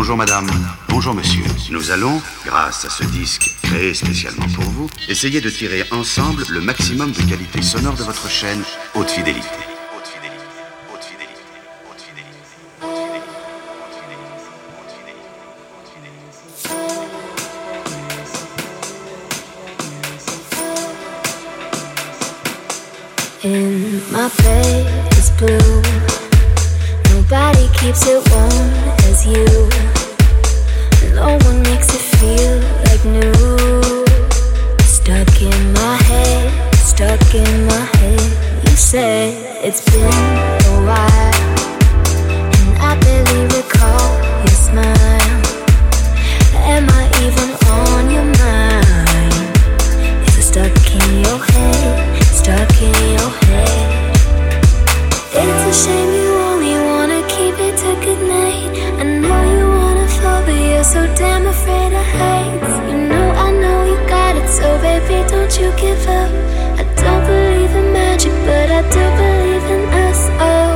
Bonjour madame, bonjour monsieur. Nous allons, grâce à ce disque créé spécialement pour vous, essayer de tirer ensemble le maximum de qualité sonore de votre chaîne Haute Fidélité. In my bed is blue. Nobody keeps it warm as you. No one makes it feel like new. Stuck in my head, stuck in my head. You said it's been a while, and I barely recall your smile. Am I even on your mind? Is it stuck in your head? Stuck in your head. It's a shame you only wanna keep it to goodnight. I know you wanna fall, but you're so damn afraid of heights. I know you got it, so baby, don't you give up. I don't believe in magic, but I do believe in us. Oh.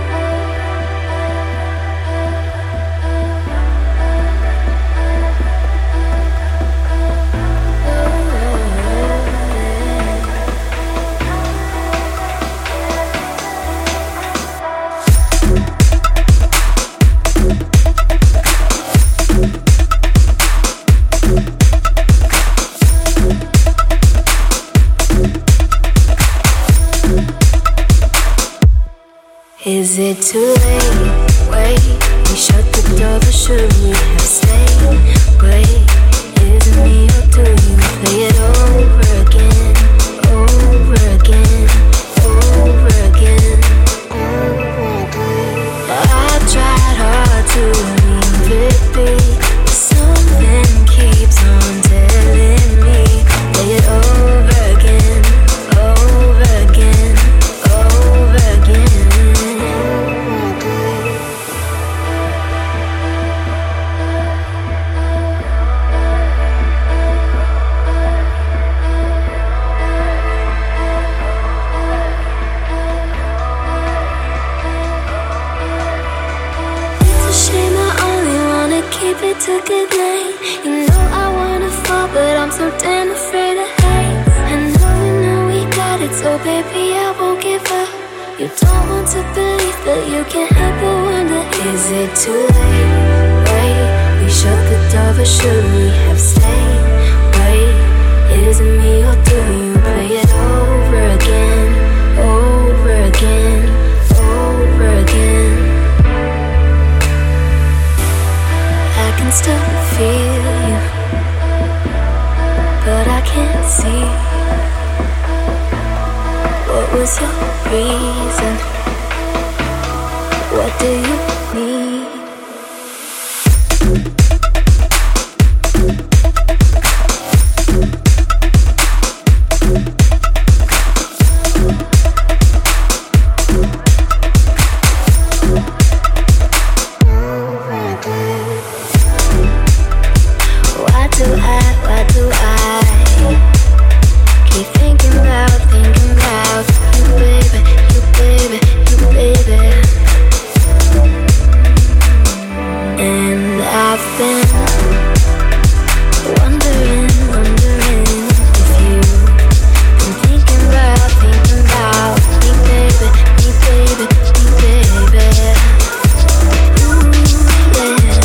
Is it too late? Wait, we shut the door, but should we have stayed? Great, is it me or do you play it over again? Over again, over again, over again. I tried hard to leave it be, but something keeps on telling me play it over again, over again, over again. Keep it to good night. I wanna fall, but I'm so damn afraid of heights. I know we got it, so baby, I won't give up. You don't want to believe, but you can't help but wonder, is it too late? Wait, we shut the door, but should we have stayed? Wait, is it me or do you play it over again? Over again, over again. I can still feel you, but I can't see. What was your reason? What do you need? Why do I keep thinking about you, baby, you, baby, you, baby? And I've been wondering if you've been thinking about me, baby, me, baby, me, baby. Ooh, yeah.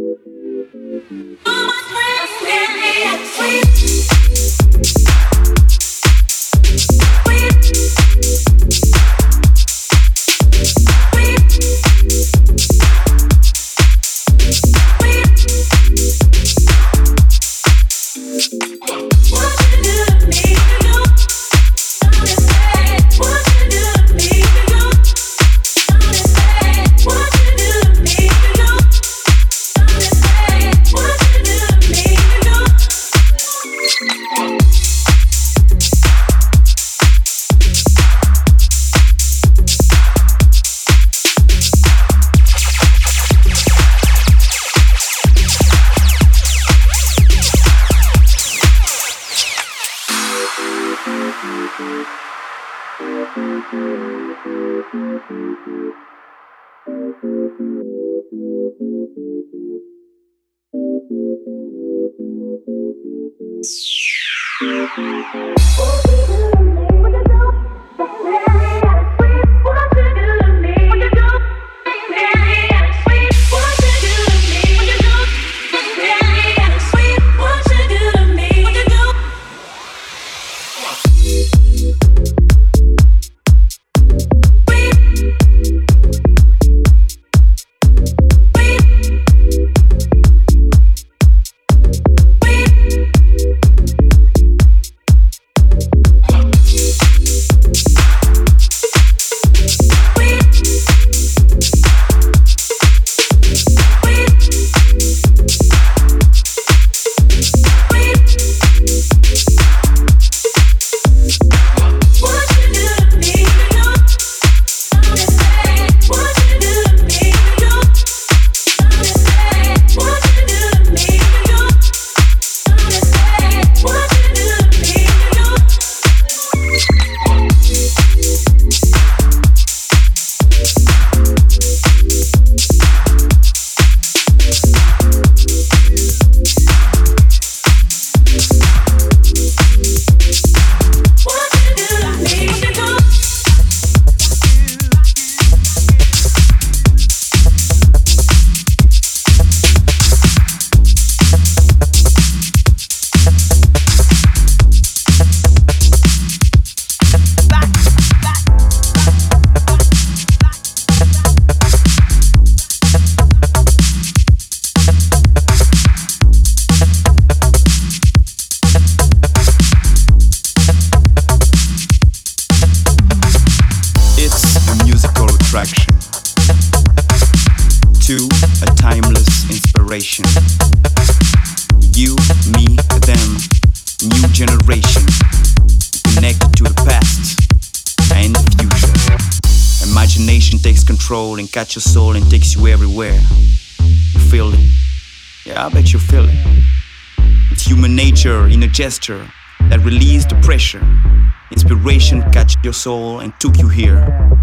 And catch your soul and takes you everywhere. You feel it? Yeah, I bet you feel it. It's human nature in a gesture that released the pressure. Inspiration catch your soul and took you here.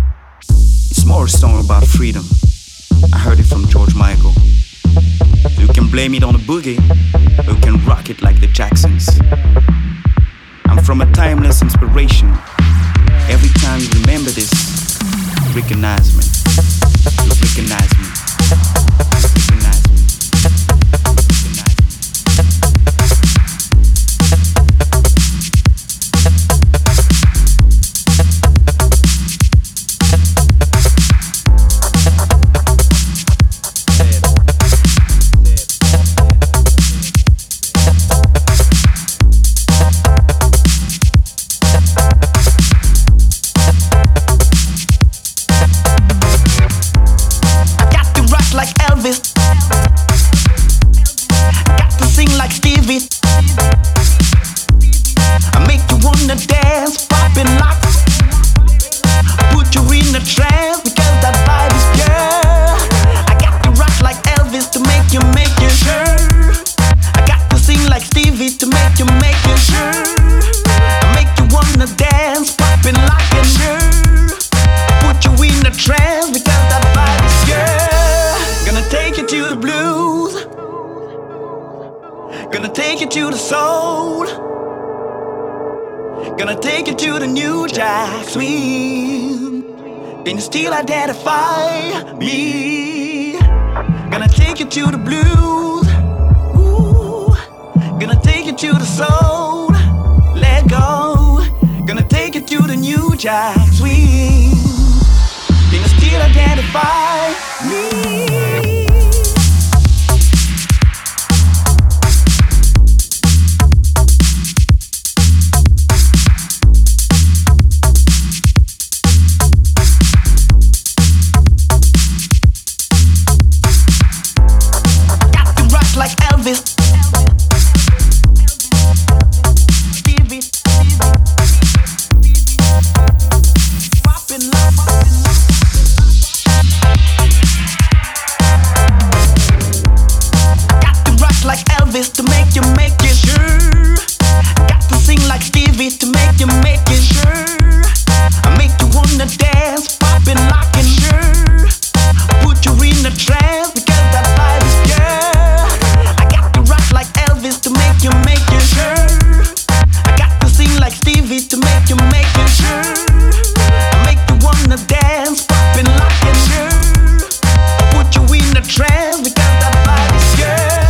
It's more a song about freedom. I heard it from George Michael. You can blame it on a boogie, or you can rock it like the Jacksons. I'm from a timeless inspiration. Every time you remember this, recognize me. You recognize me. Recognize me. Can you still identify me? Gonna take you you to the blues. Ooh, gonna take you to the soul. Let go. Gonna take you to the new jack swing. Can you still identify me? Like Elvis, Stevie, poppin' like. Got to rock like Elvis to make it sure. Got to sing like Stevie to make it sure. I make you wanna dance, poppin' like and sure. Put you in a trance because that vibe is good. Like Elvis to make you sure. I got to sing like Stevie to make you sure. I make you wanna dance, poppin' like and sure. I put you in a trance because that vibe is good.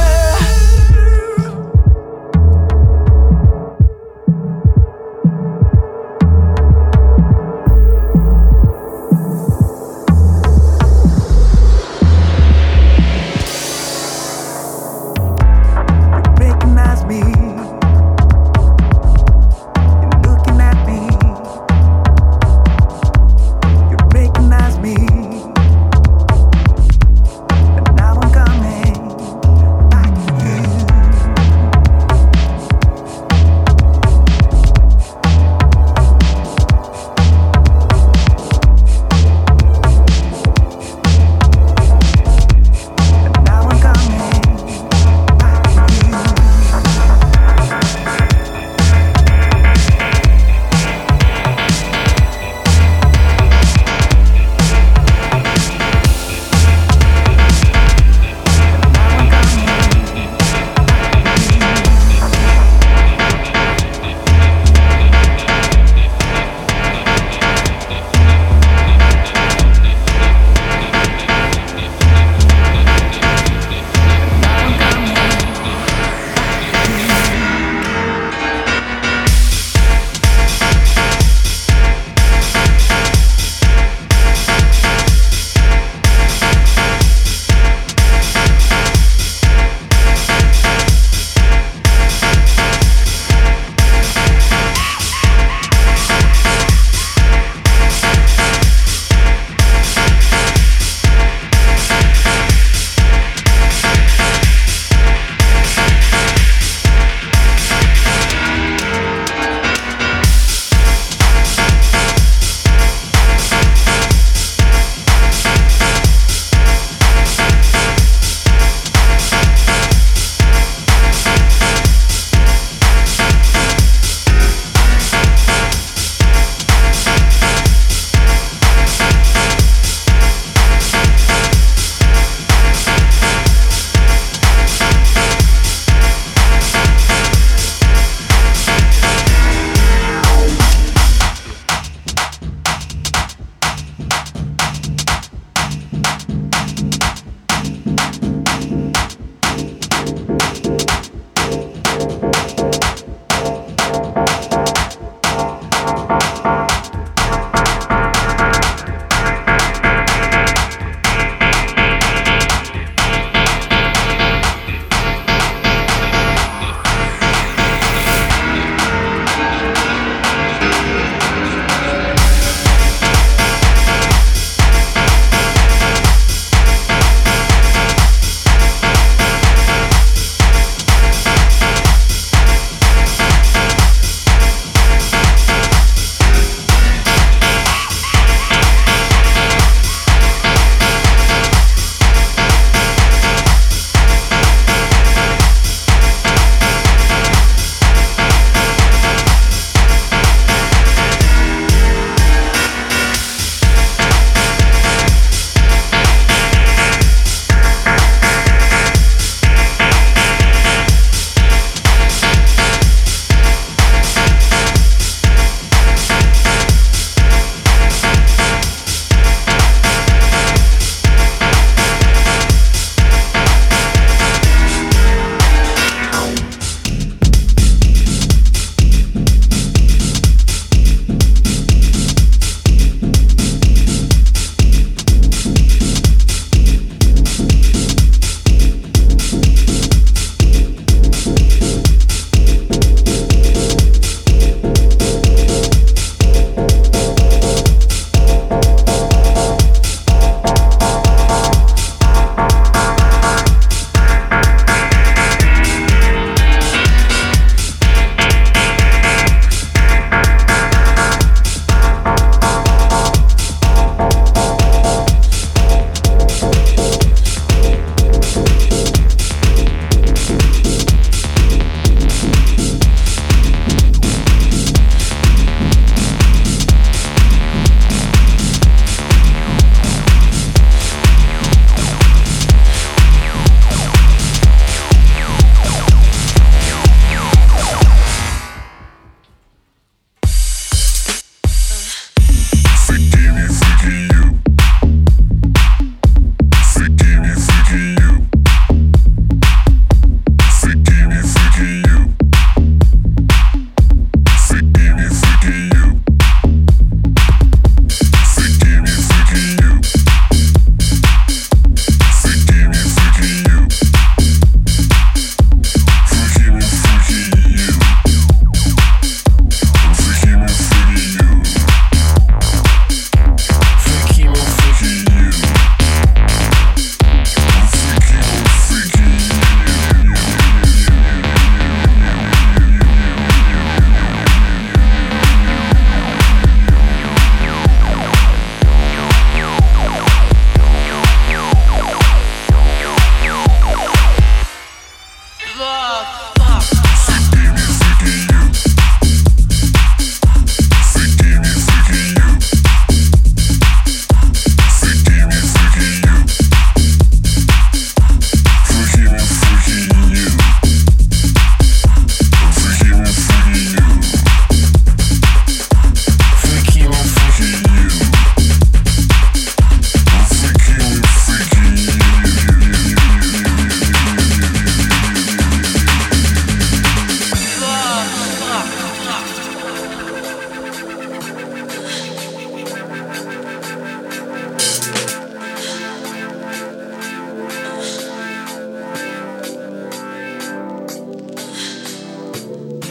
Now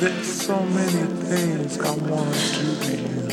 there's so many things I want to do to you.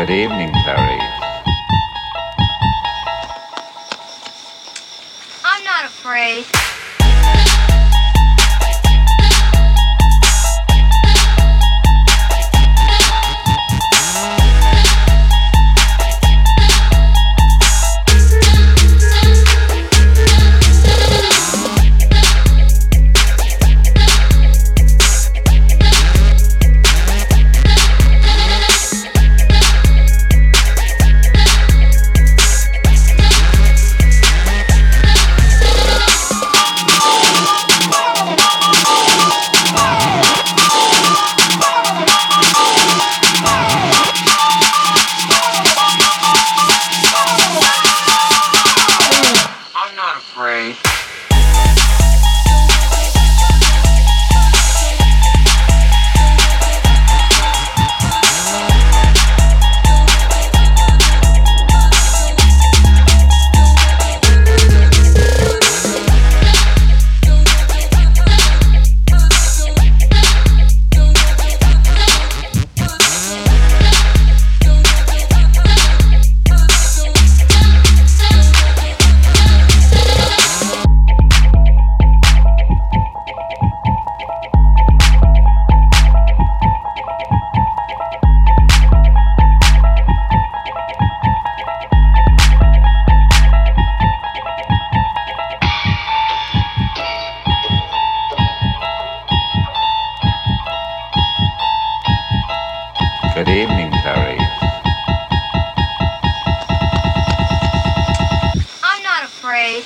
Good evening, Clarice. I'm not afraid. Good evening, Clarice. I'm not afraid.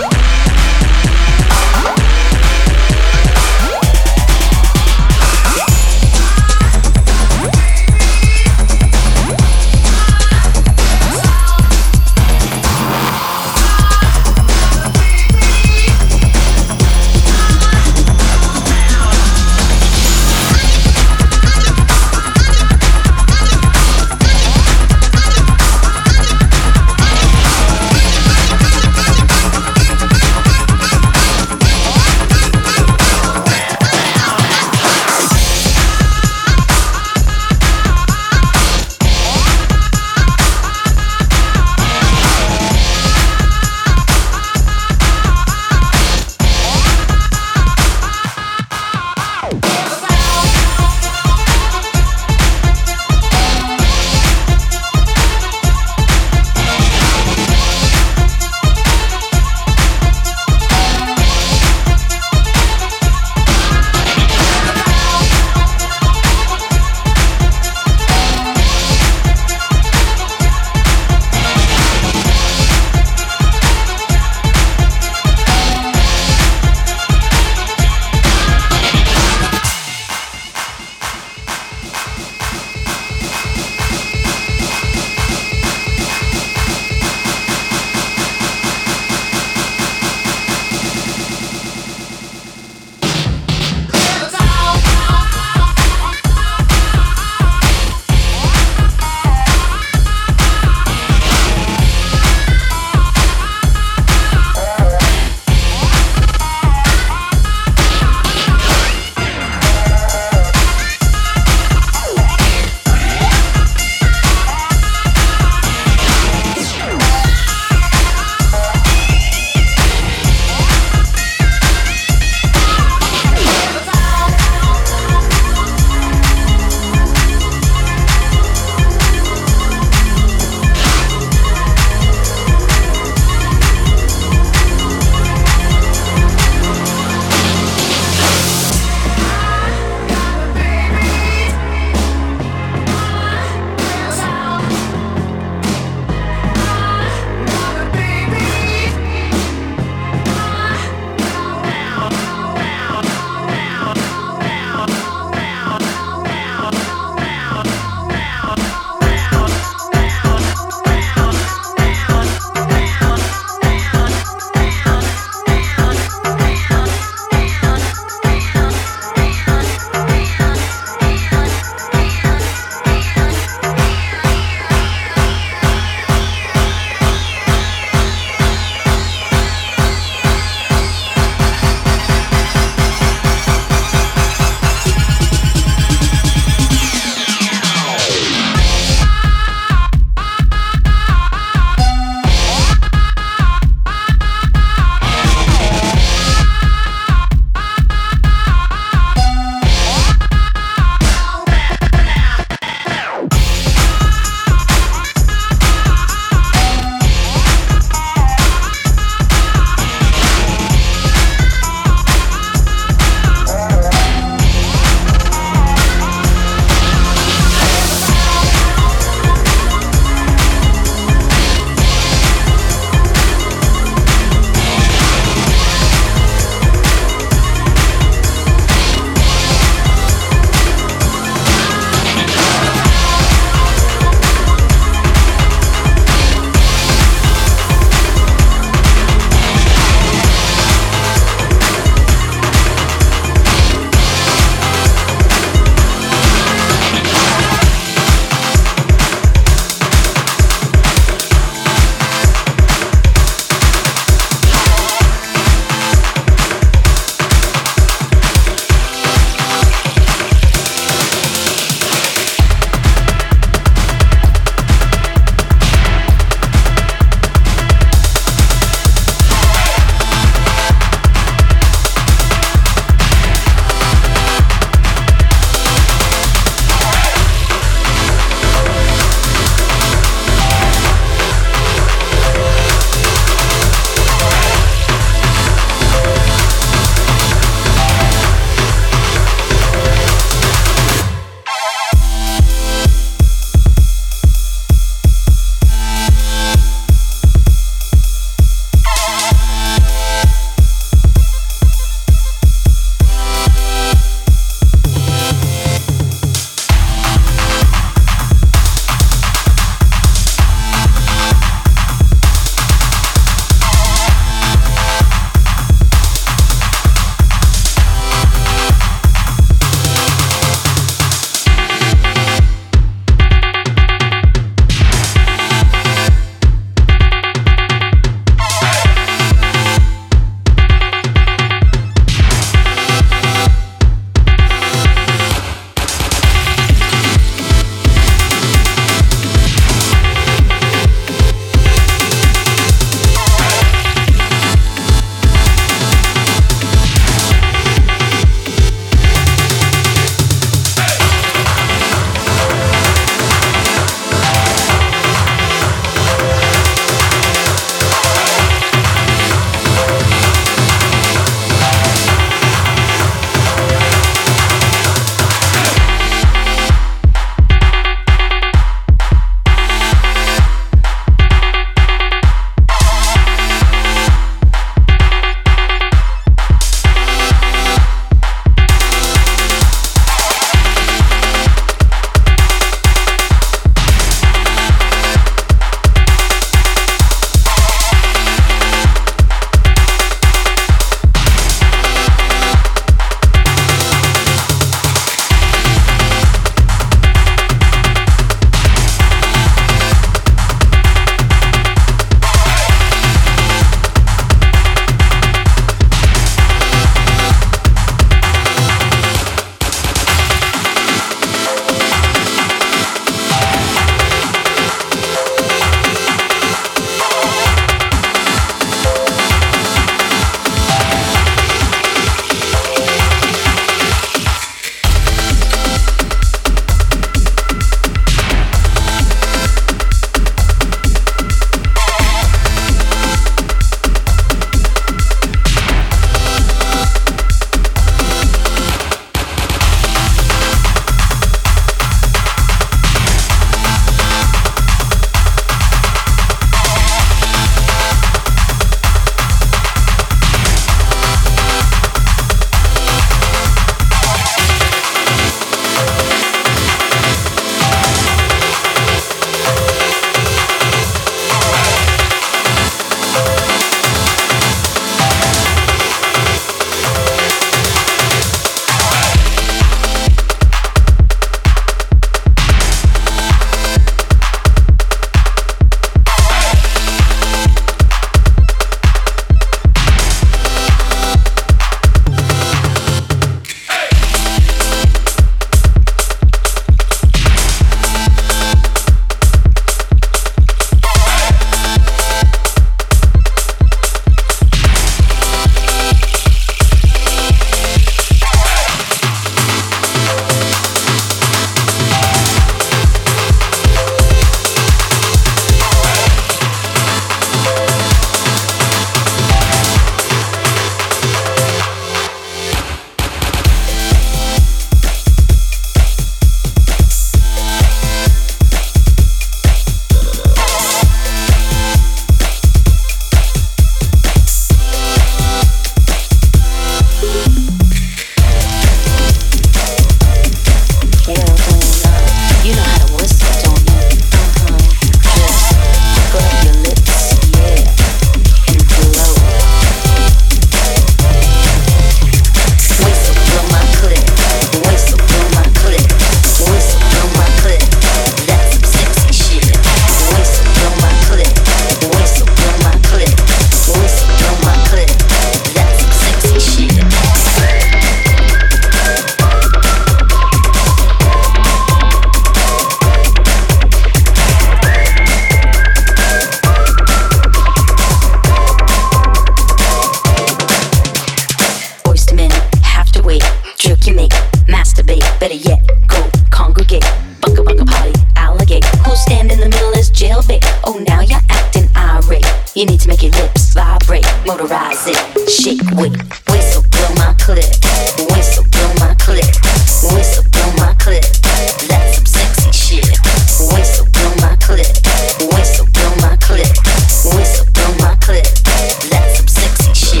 Better yet, go congregate. Bunga bunga party, alligate. Who'll stand in the middle is jailbait. Oh, now you're acting irate. You need to make your lips vibrate. Motorize it, shake, wait. Whistle, blow my clip. Whistle, blow my clip. Whistle, blow my clip. That's some sexy shit. Whistle, blow my clip. Whistle, blow my clip. Whistle, blow my clip. That's some sexy shit.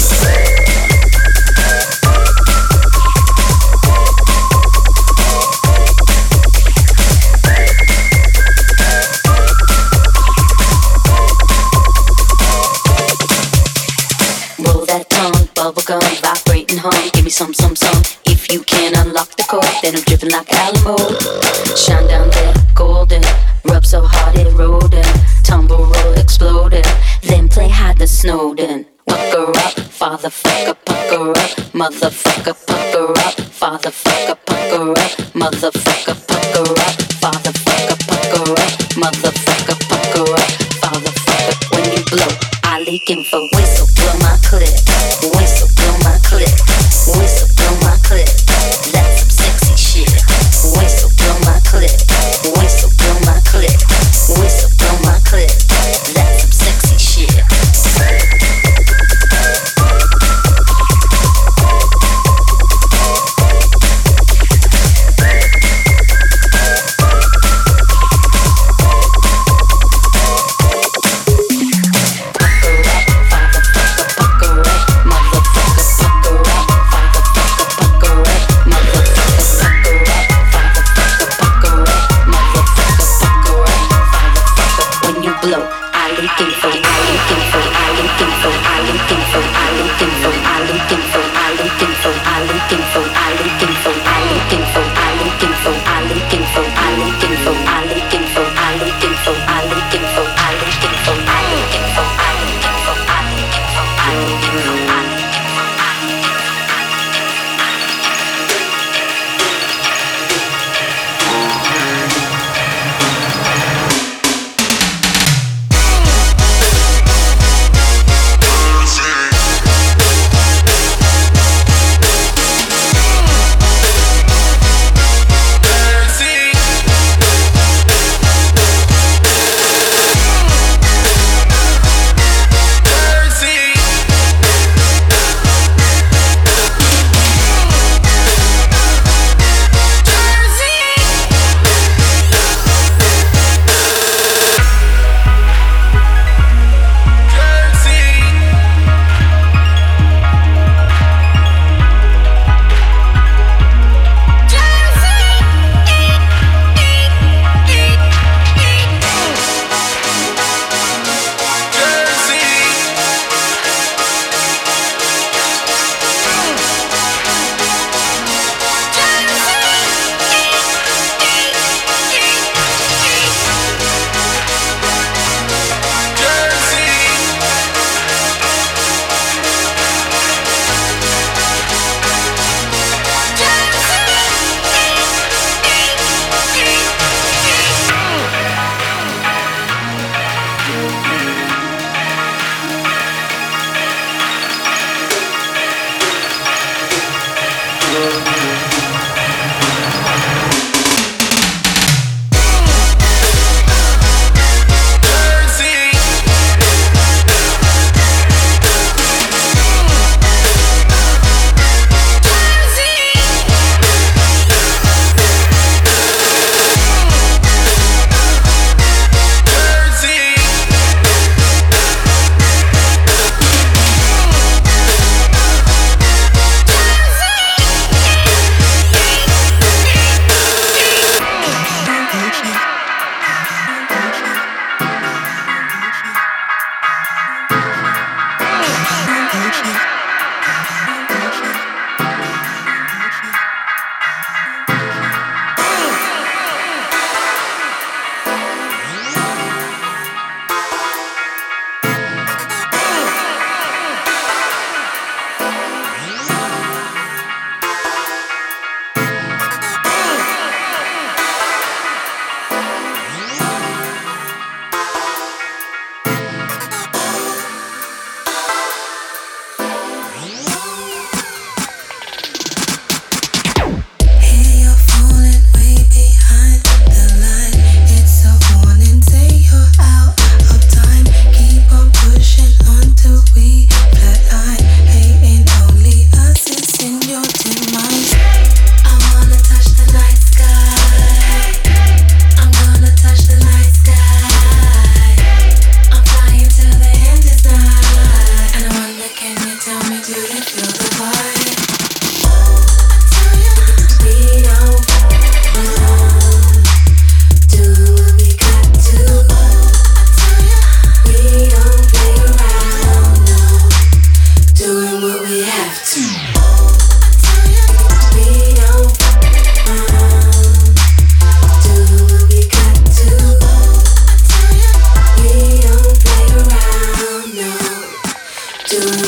Bubblegum, vibrating hum. Give me some. If you can unlock the code, then I'm dripping like Alamo. Shine down there, golden. Rub so hard it eroding. Tumble, roll, exploding. Then play hide the Snowden. Pucker up, father fucker, pucker up. Motherfucker, pucker up. Father fucker, pucker up. Motherfucker, pucker up. Father fucker, pucker up. Motherfucker, pucker up. Father fucker, when you blow, I leak info. Whistle, blow my clip. Whistle, blow my clip. Whistle, blow my clip. That's some sexy shit. Whistle, blow my clip. Whistle, blow my clip. Whistle, blow my clip. That's some sexy shit. Motherfucker,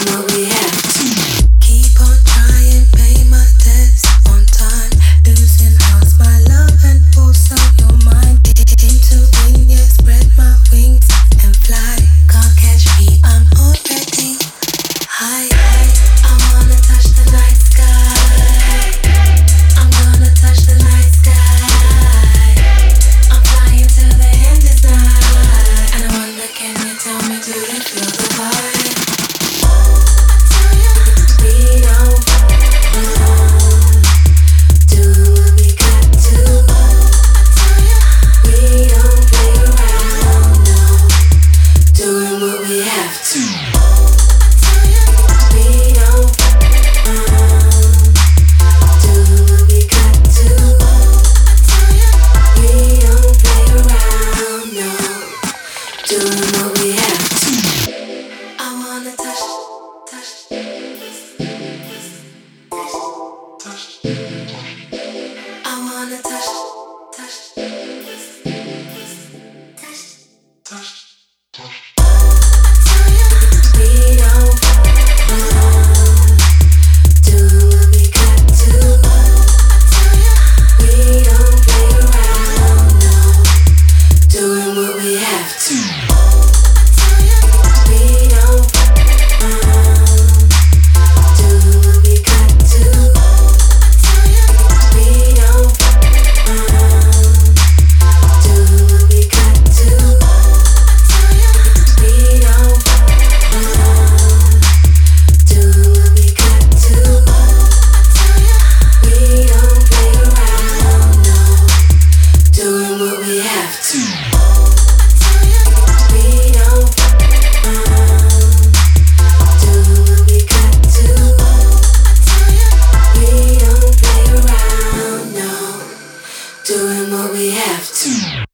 Doing what we have to.